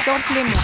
Samplez-moi.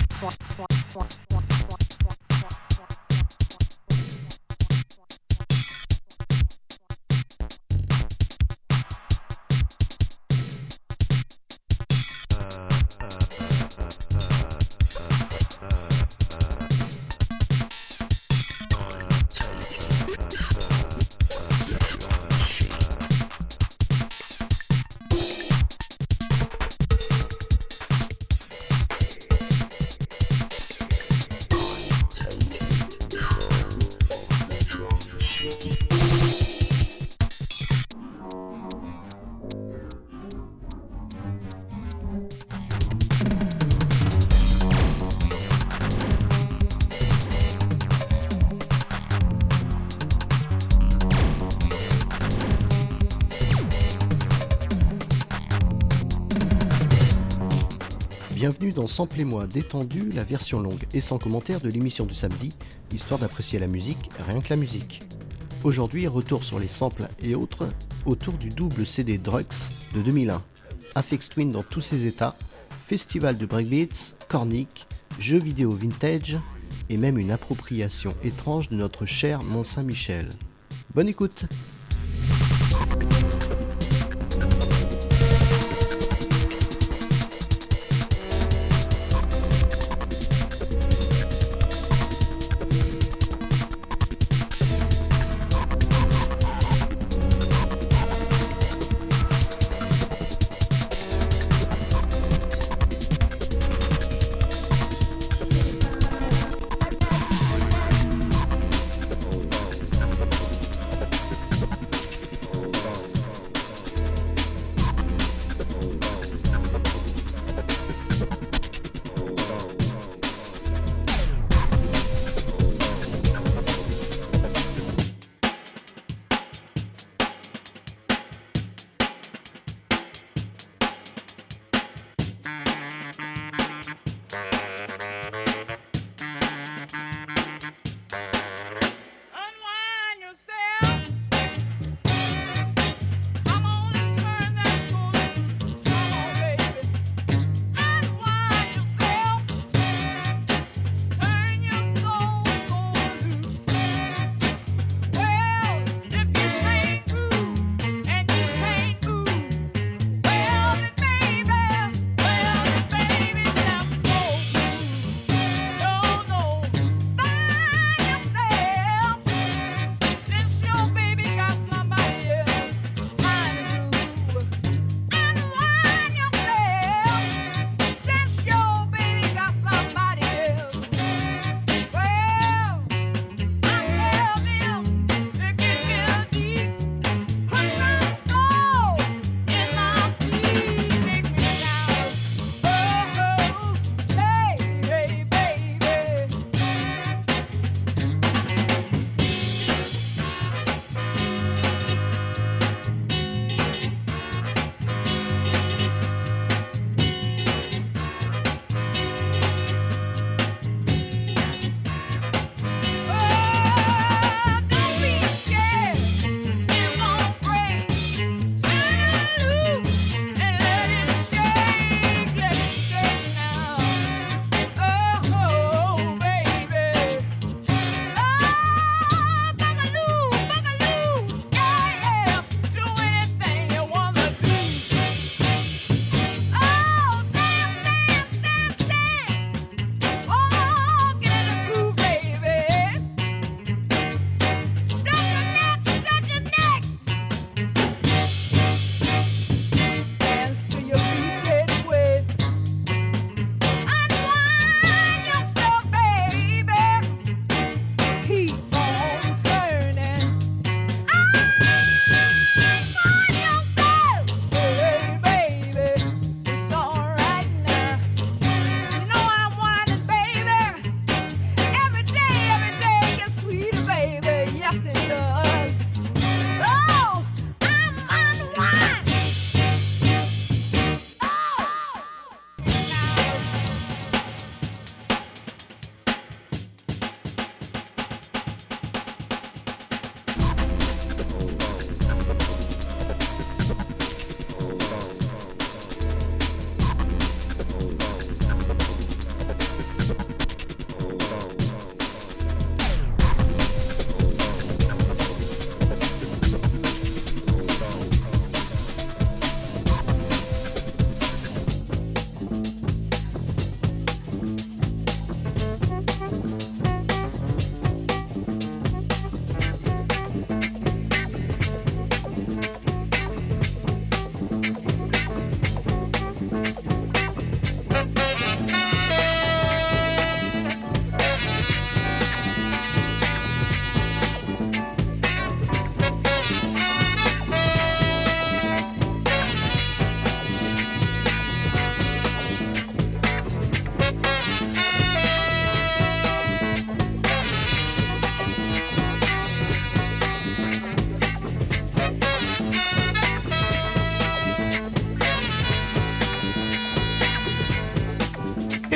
Bienvenue dans Samplez-moi détendu, la version longue et sans commentaire de l'émission du samedi, histoire d'apprécier la musique, rien que la musique. Aujourd'hui, retour sur les samples et autres autour du double CD Drugs de 2001. Aphex Twin dans tous ses états, festival de breakbeats, cornic, jeux vidéo vintage et même une appropriation étrange de notre cher Mont-Saint-Michel. Bonne écoute!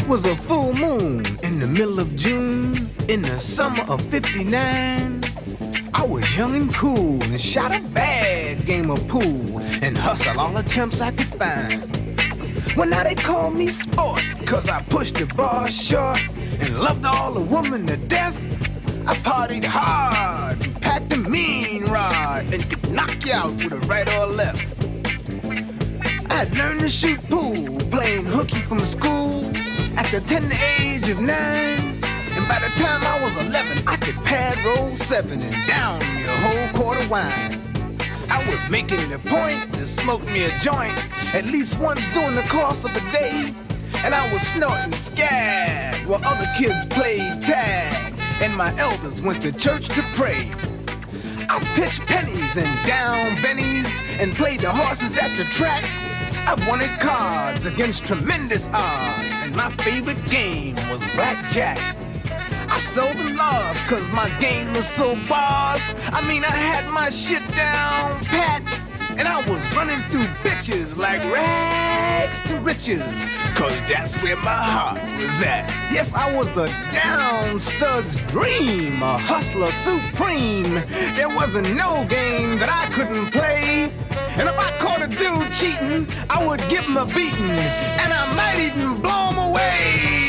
It was a full moon in the middle of June in the summer of '59. I was young and cool and shot a bad game of pool and hustled all the chumps I could find. Well, now they call me sport, cause I pushed the bar short and loved all the women to death. I partied hard and packed a mean rod and could knock you out with a right or a left. I had learned to shoot pool, playing hooky from school at the tender age of 9. And by the time I was 11, I could pad roll 7 and down me a whole quart of wine. I was making it a point to smoke me a joint at least once during the course of a day. And I was snorting scab while other kids played tag and my elders went to church to pray. I pitched pennies and down bennies and played the horses at the track. I wanted cards against tremendous odds, and my favorite game was blackjack. I seldom lost cause my game was so boss. I mean, I had my shit down pat, and I was running through bitches like rags to riches, cause that's where my heart was at. Yes, I was a down stud's dream, a hustler supreme. There wasn't no game that I couldn't play. And if I caught a dude cheating, I would give him a beating, and I might even blow him away.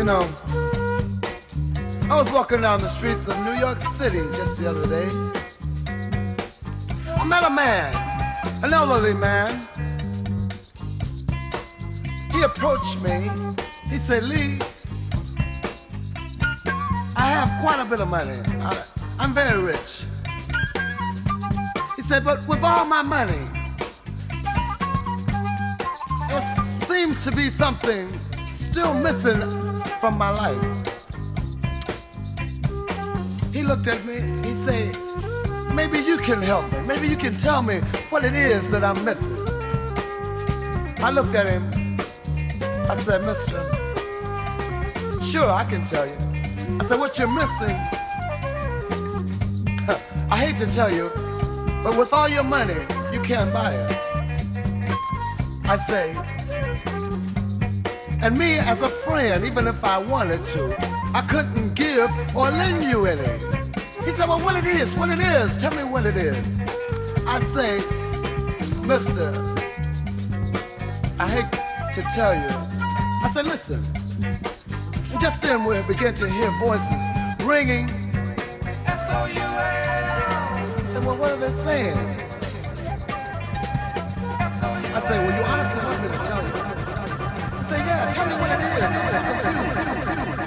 You know, I was walking down the streets of New York City just the other day. I met a man, an elderly man. He approached me. He said, Lee, I have quite a bit of money. I'm very rich. He said, but with all my money, there seems to be something still missing from my life. He looked at me, he said, maybe you can help me. Maybe you can tell me what it is that I'm missing. I looked at him. I said, mister, sure, I can tell you. I said, what you're missing, I hate to tell you, but with all your money, you can't buy it. I say, and me as a friend, even if I wanted to, I couldn't give or lend you any. He said, well, what it is, tell me what it is. I say, mister, I hate to tell you. I said, listen. And just then we began to hear voices ringing. S-O-U-L. He said, well, what are they saying? I said, well, you honestly want me to tell you? He said, yeah, tell me what it is. I'm confused.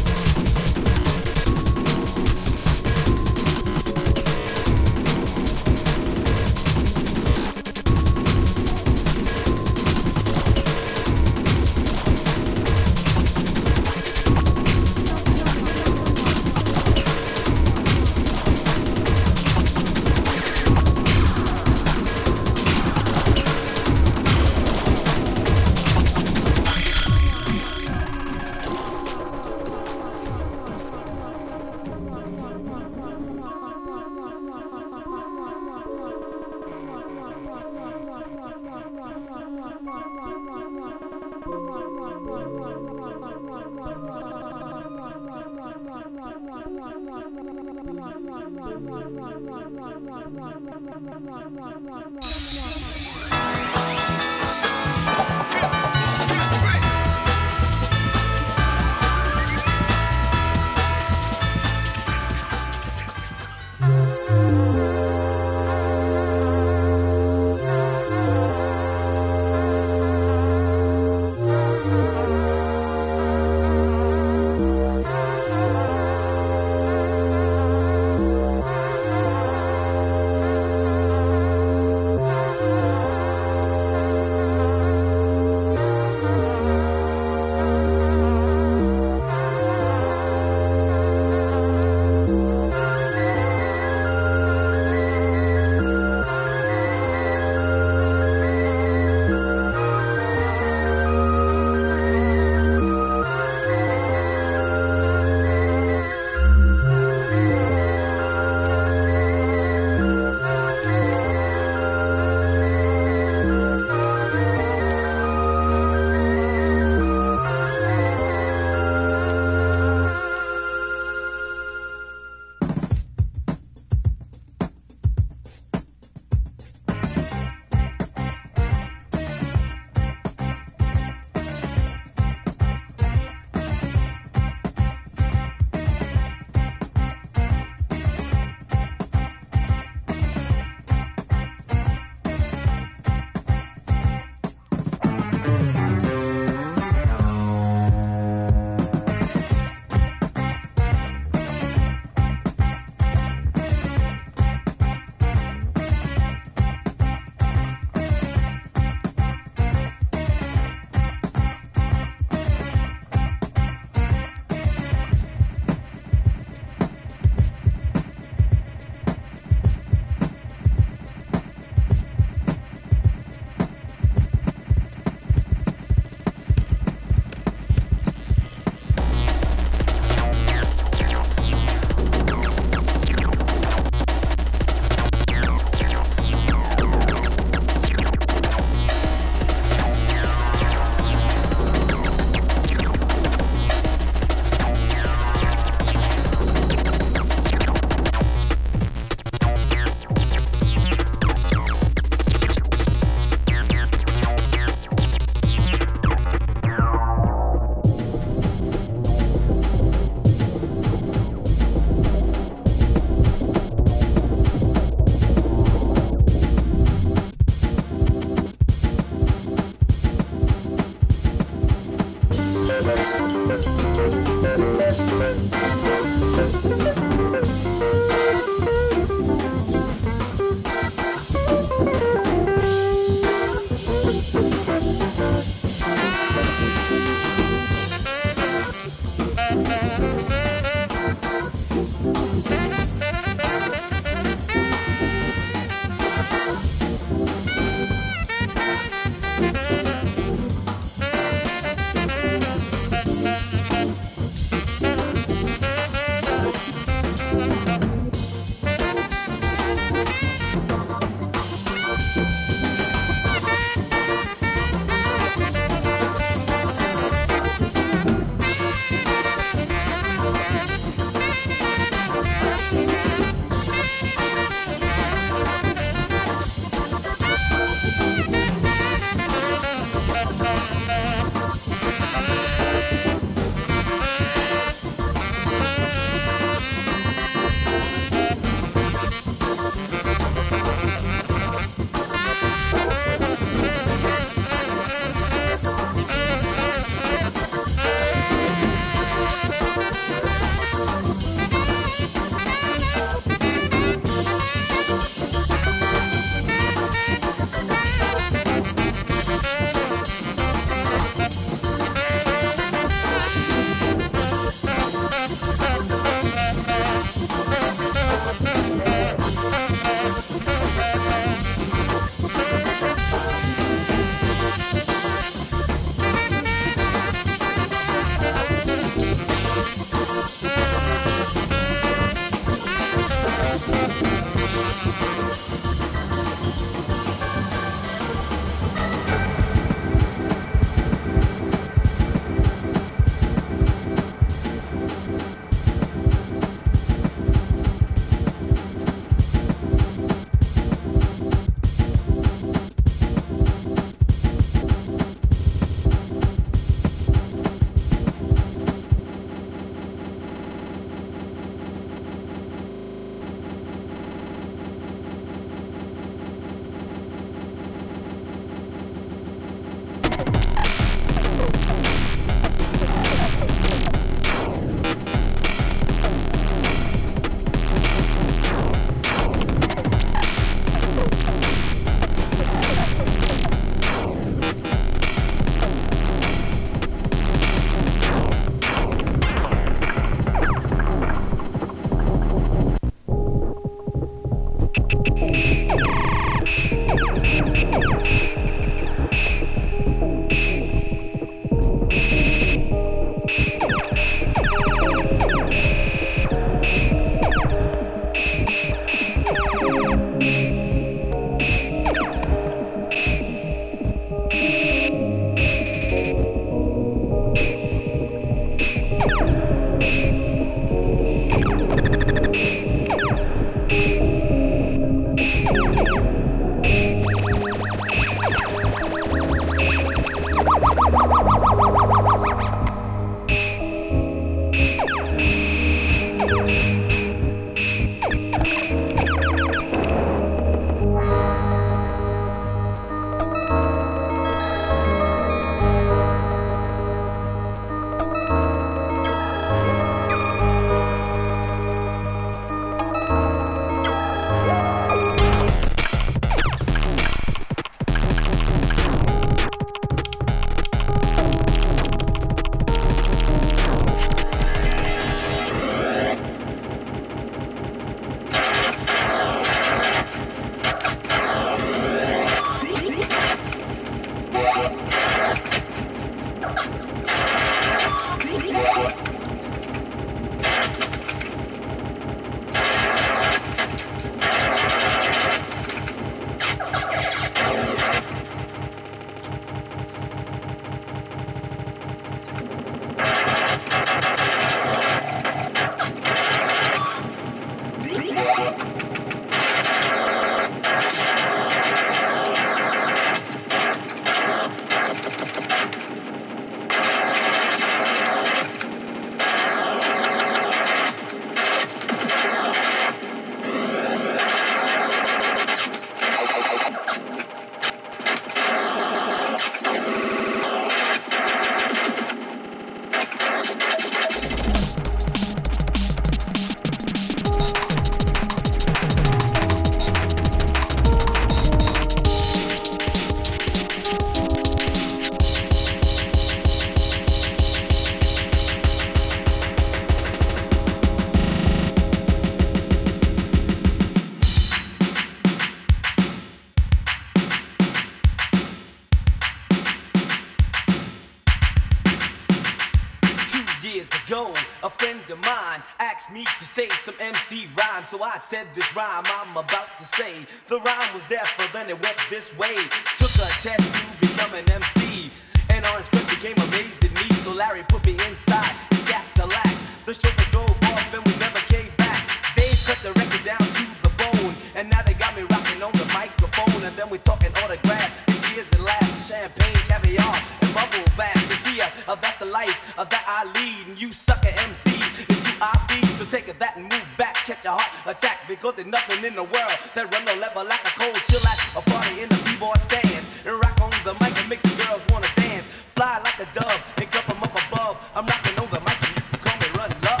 a friend of mine asked me to say some MC rhyme. So I said this rhyme I'm about to say. The rhyme was there, but then it went this way. Took a test to become an MC, and Orange Cliff became amazed at me. So Larry put me inside his Cadillac. The chauffeur drove off and we never came back. Dave cut the record down to the bone, and now they got me rocking on the microphone. And then we talking autographs, and tears and laughs, champagne, caviar, and bubble bath. You see, that's the life that I lead, and you sucker MCs, it's who I feed. So take that and move back, catch a heart attack, because there's nothing in the world that run no level like a cold chill at a party in the b-boy stand, and rock on the mic and make the girls wanna dance, fly like a dove and come from up above. I'm rocking on the mic and you can call me Run Love.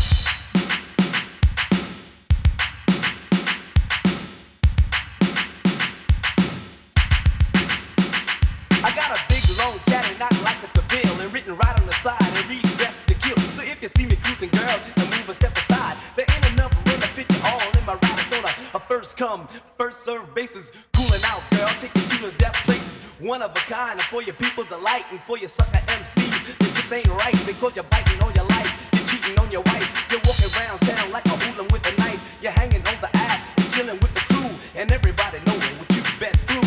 I got a big long caddy, not like a Seville, and written right on the side and read Dressed to Kill. So if you see me cruising, girl, just to move a step aside. There ain't enough room to fit you all in my ride. It's on a first come, first serve basis. Cooling out, girl, take you to the death places. One of a kind, and for your people's delight, and for your sucker MCs, that just ain't right, because you're biting on your life, you're cheating on your wife, you're walking around town like a hooligan with a knife, you're hanging on the app and chilling with the crew, and everybody knowing what you've been through.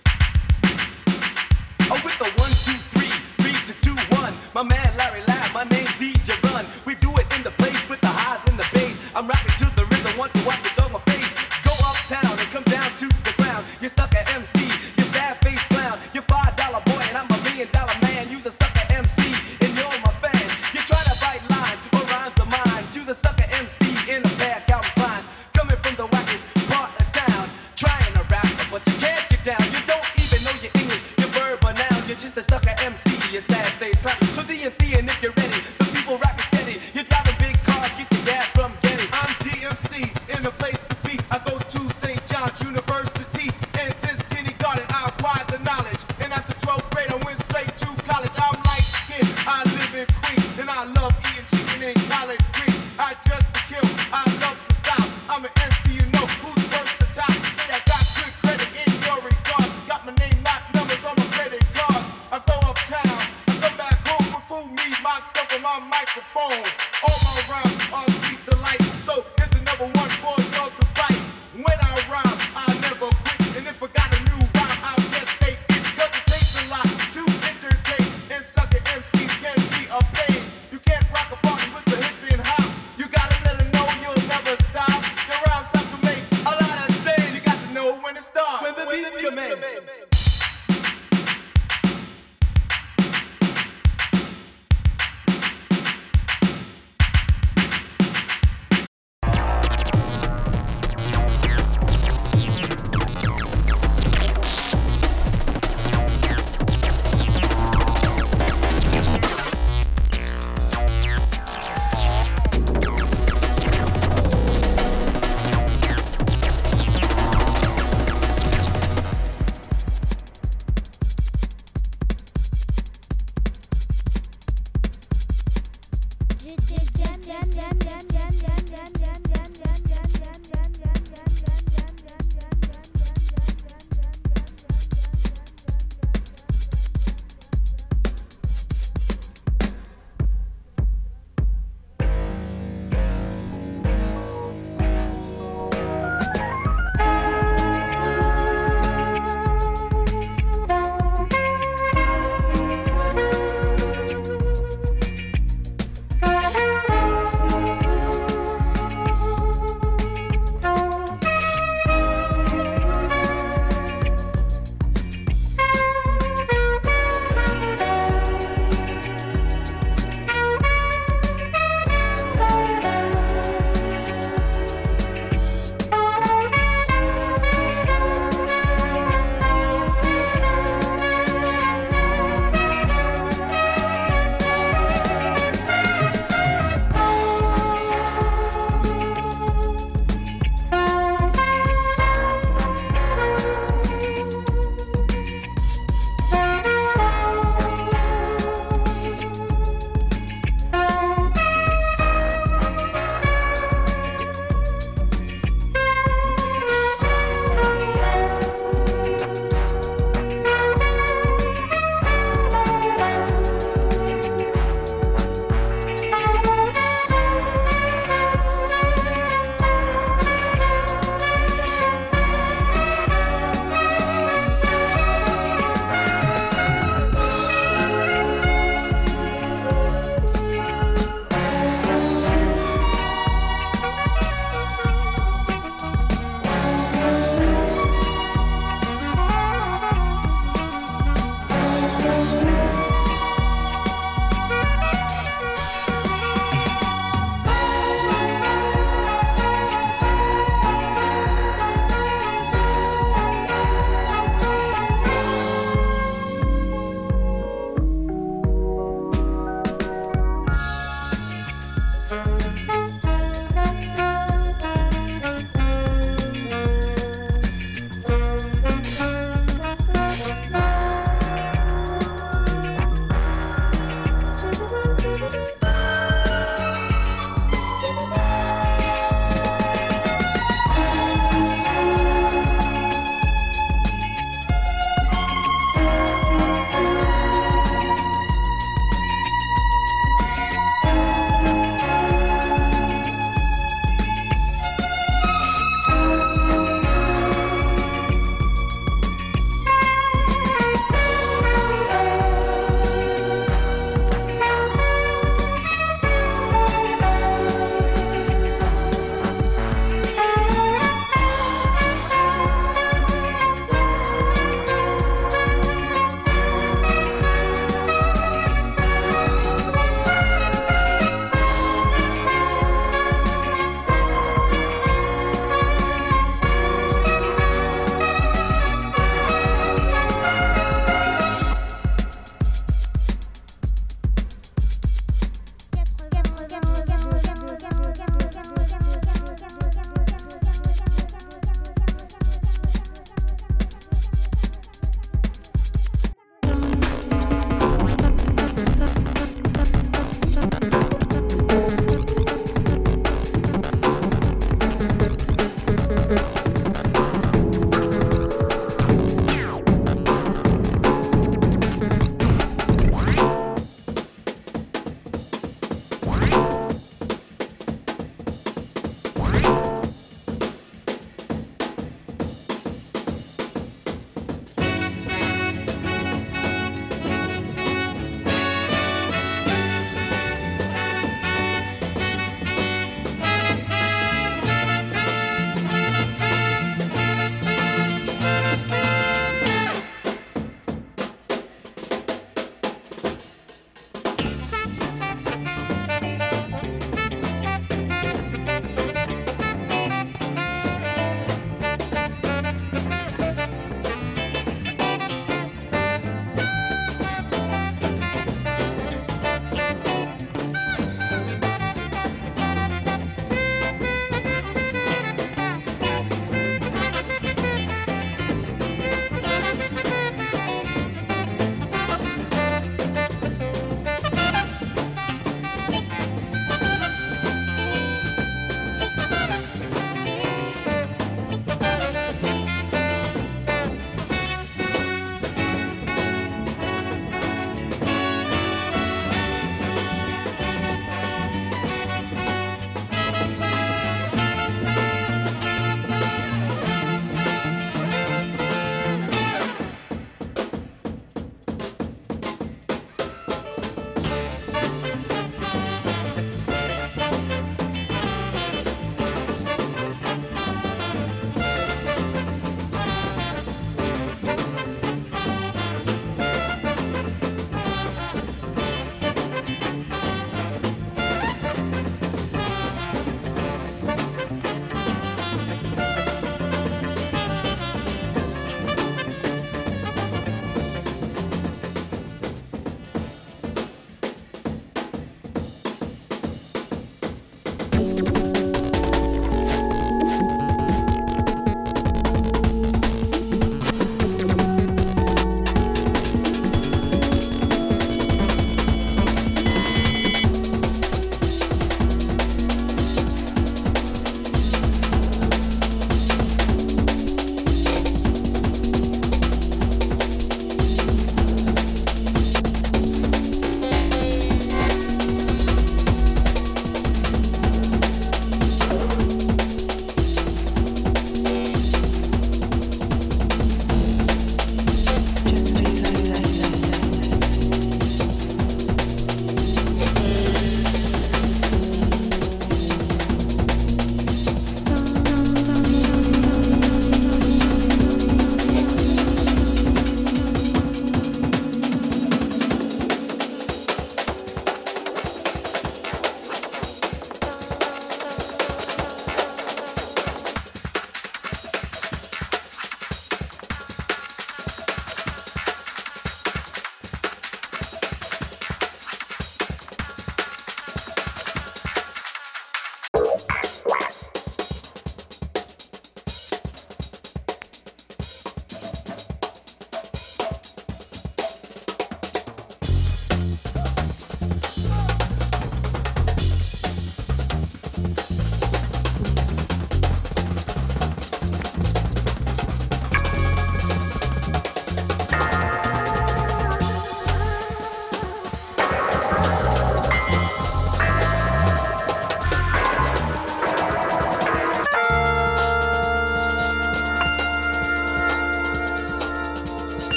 Oh, with the 1, 2, 3, 3 to 2, 1. My man Larry Lab, my name's DJ Run. We do it in the place with the highs and the bass. I'm rocking to the rhythm, want to wipe it on my face. Go uptown and come down to the ground. You sucker MC, you sad face clown. You're $5 boy and I'm $1 million man. You's a sucker MC and you're my fan. You try to write lines or rhymes of mine. You's a sucker MC in a pair of Calvin Kleins. Coming from the wackest part of town, trying to rap, but you can't get down. You don't even know your English. You're just a sucker MC, you sad face clown. So DMC, and if you're ready, the people rapping steady. You're driving big cars, get your gas from Getty. I'm DMC, in the place to be. I go to St. John's University, and since kindergarten I acquired the knowledge. And after 12th grade I went straight to college. I'm light skinned, I live in Queens, and I love eating chicken and collard greens. I dress to kill, I love to stop. I'm an MC, you know who's versatile. Say I got good credit in your regards. Got my name, not numbers on my credit card. I go uptown, I come back home with food, me, myself, and my microphone. All my rhymes are sweet delight, so here's another one for y'all to bite. When I rhyme, I never quit, and if I got a new rhyme, I'll just say it, because it takes a lot to entertain, and sucker MCs can be a pain. You can't rock a party with the hip and hop. You gotta let them know you'll never stop. Your rhymes have to make a lot of sense. You got to know when to start, When the beats come in.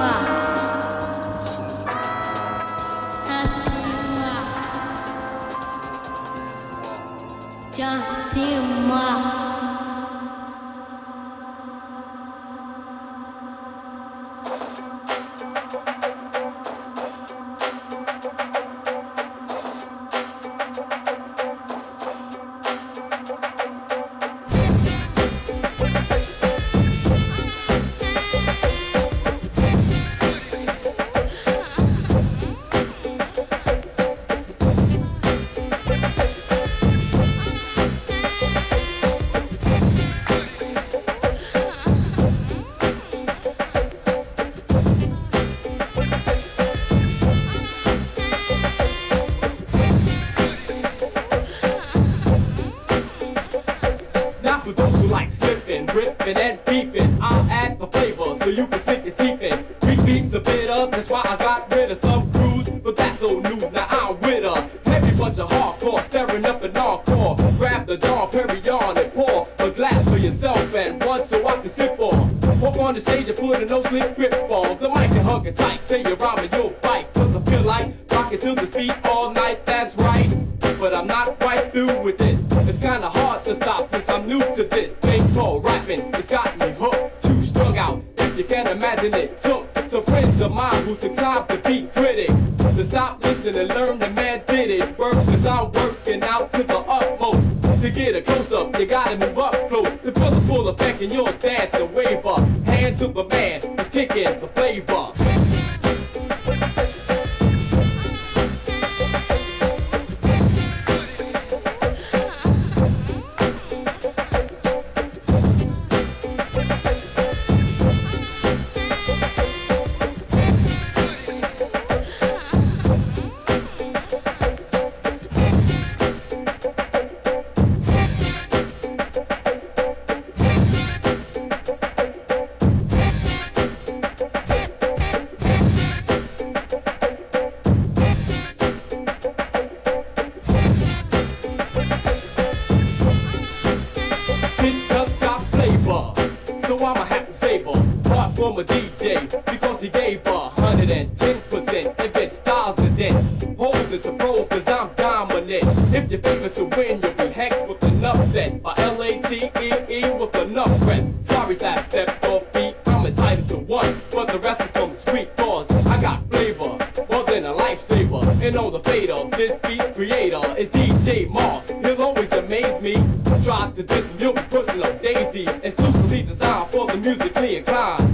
ripping and beefing. I'll add the flavor so you can sink your teeth in. Beat beats a bit of, that's why I got rid of some crews, but that's old news. Now I'm with a heavy bunch of hardcore, staring up an encore. Grab the Dom Perignon and pour a glass for yourself and one so I can sip on. Walk on the stage and put a no-slip grip on the mic and hug it tight. Say your rhyme and you'll bite, cause I feel like rocking to the beat all night, that's right. But I'm not quite through with this. It's kinda hard to stop since I'm new to this. Paintball rapping, it's got me hooked, too strung out. If you can imagine it took some friends of mine who took time to be critics, to stop, listen and learn the man did it. Work cause I'm working out to the utmost. To get a close-up, you gotta move up close. To feel the full effect in your dance and wave up. Hand to the man who's kicking the flavor. From a DJ, because he gave 110% and get styles and then holes into pros cause I'm dominant. If you're favored to win, you'll be hexed with enough set. Or L-A-T-E-E with enough breath. Sorry that I stepped off beat, I'm entitled to one, but the rest of them sweet cause I got flavor, more than a lifesaver. And on the fader, this beat's creator is DJ Mark. He'll always amaze me. Try to diss him, you'll be pushing up daisies. Exclusively designed for the musically inclined.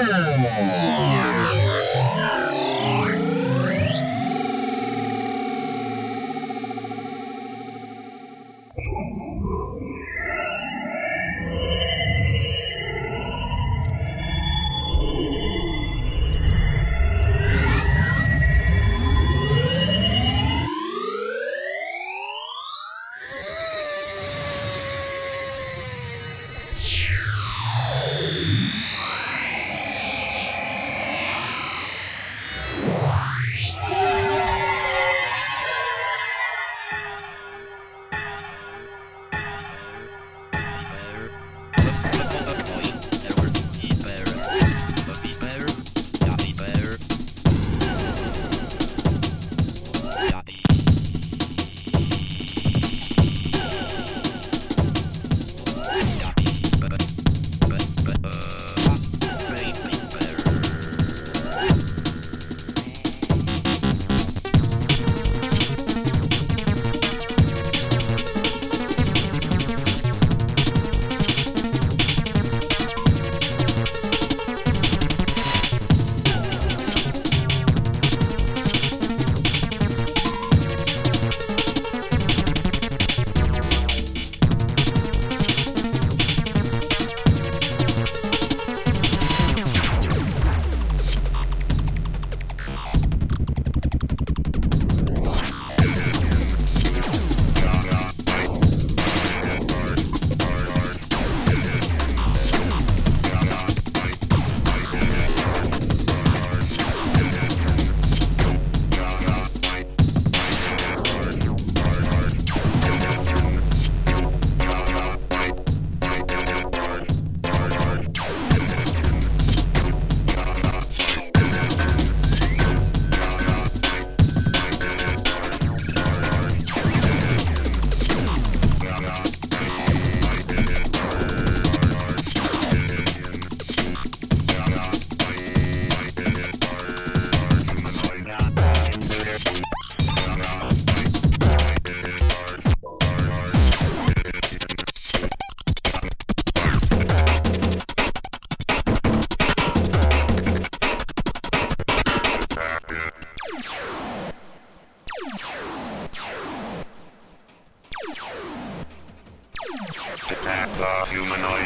Attack the humanoid.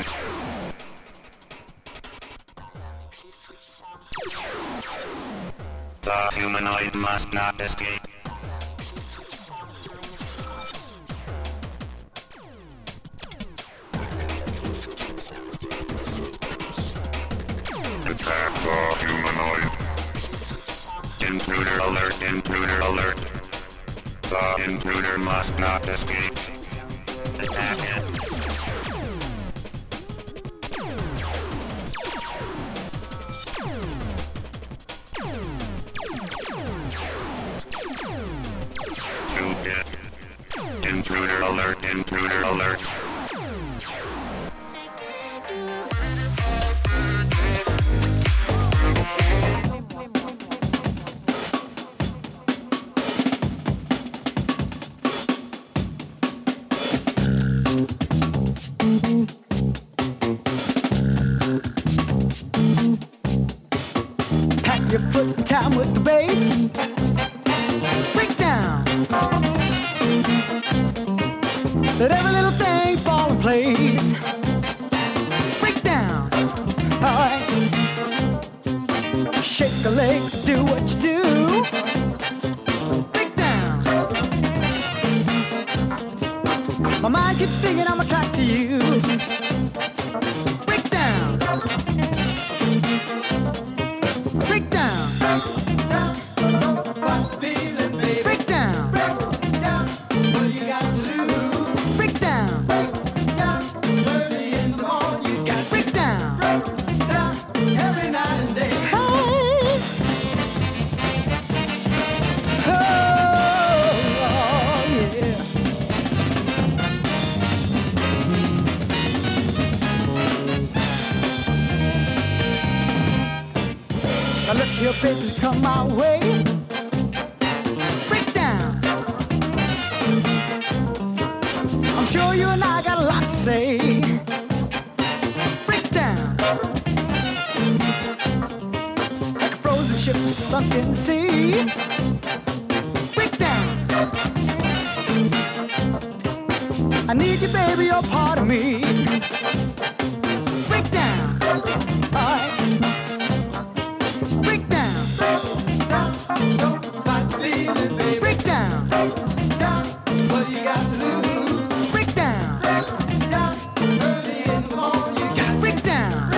The humanoid must not escape. Attack the humanoid. Intruder alert, intruder alert. The intruder must not escape. Attack it. Shoot it. Intruder alert, intruder alert. Pack your foot in time with the bass. Break down. Let every little thing fall in place. Break down. Alright. Shake a leg, do what you do. Break down. My mind keeps thinking I'm attracted to you. Break down. Break down. Break down. What you got to lose? Break down. Early in the morning you got break down. Every night and day. Hey. Oh, yeah. Now look here, baby, come my way. Break down. I'm sure you and I got a lot to say. Break down. I need you, baby, you're part of me. Break down. All right. Break down. Break down. What you got to lose? Break down. Early in the morning, you got Break down.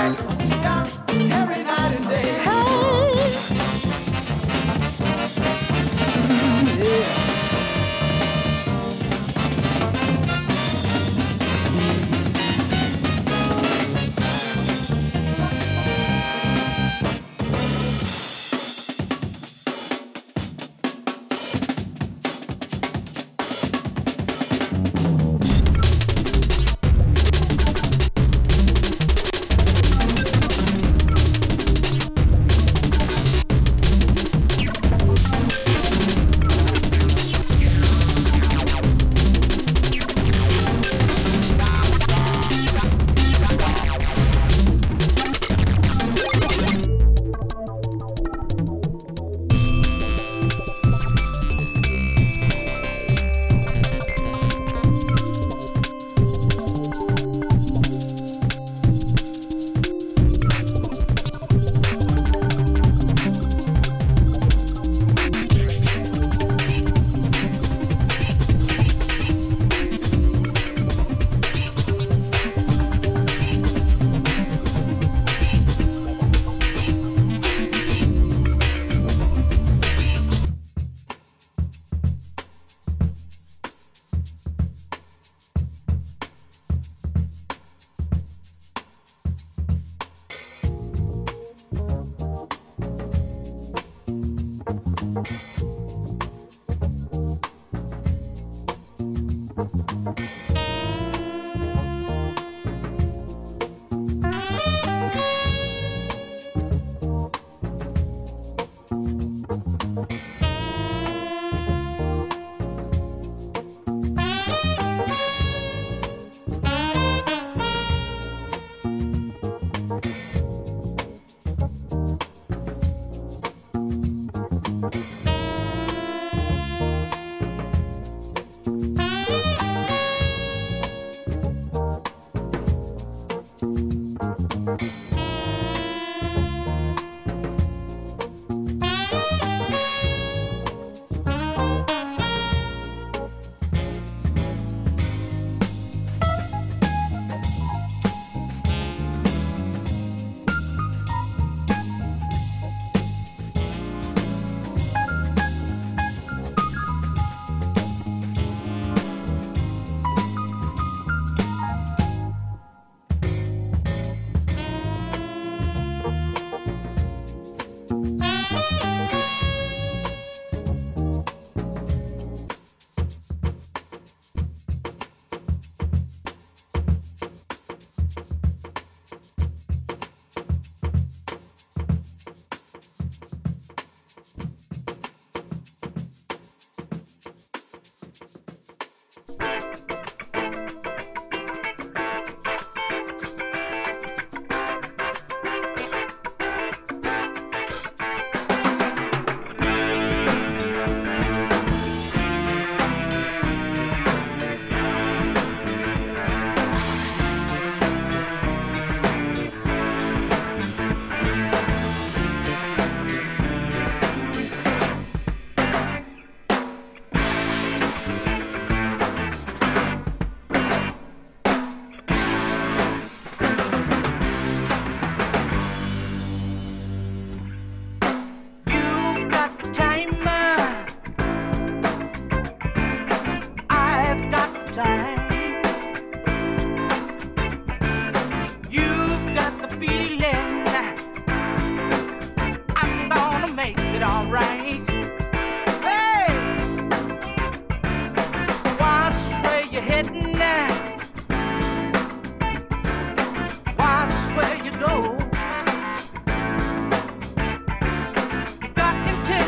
every night and day.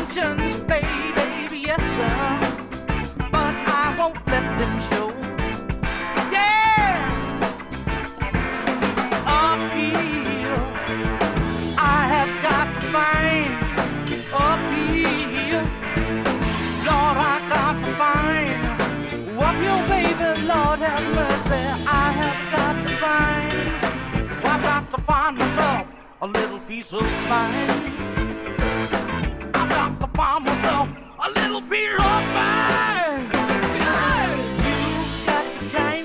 Baby, yes sir, but I won't let them show. baby, Lord have mercy, I have got to find. Well, I've got to find myself a little piece of mind. I've got to find myself a little piece of mind. Yeah. You've got the time.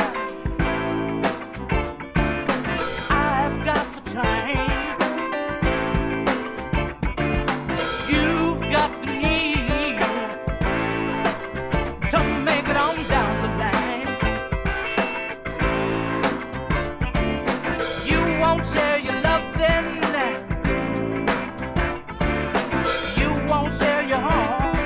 I've got the time. You've got the need to make it on down the line. You won't share your loving. You won't share your home.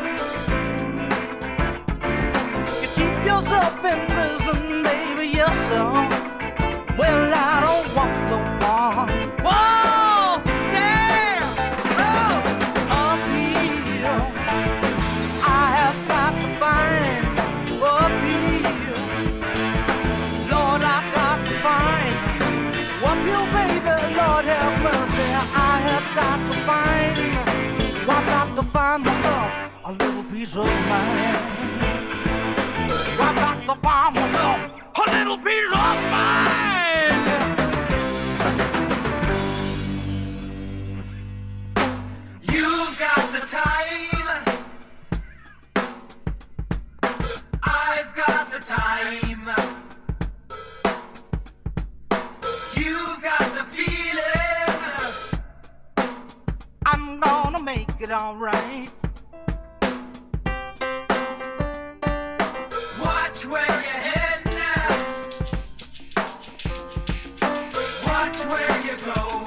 You keep yourself in prison, baby, yes sir. Well, I don't want no more. Whoa, yeah, oh, up here, I have got to find. Up here, Lord, I've got to find. Up here, baby, Lord have mercy, I have got to find. Well, I've got to find myself a little piece of mind. Well, I've got to find myself a little piece of mind. You've got the time. I've got the time. You've got the feeling. I'm gonna make it alright. Watch where you're heading now. Watch where you go.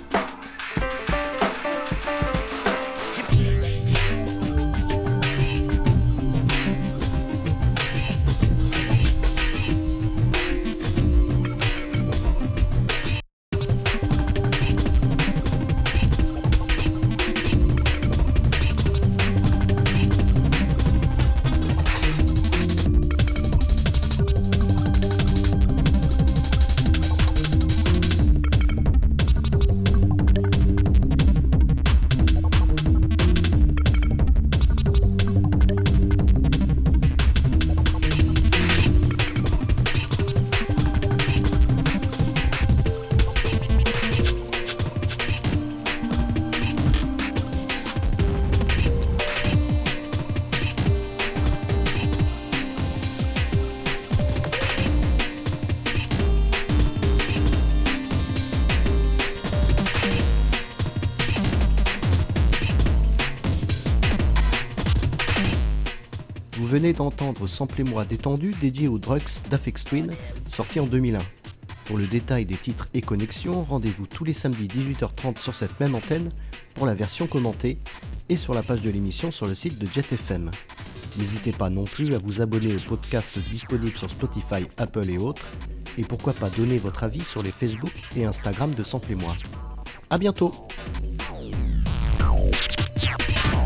Vous venez d'entendre Samplez-moi détendu dédié aux Drugs d'Aphex Twin, sorti en 2001. Pour le détail des titres et connexions, rendez-vous tous les samedis 18h30 sur cette même antenne pour la version commentée et sur la page de l'émission sur le site de Jet FM. N'hésitez pas non plus à vous abonner au podcast disponible sur Spotify, Apple et autres, et pourquoi pas donner votre avis sur les Facebook et Instagram de Samplez-moi. A bientôt!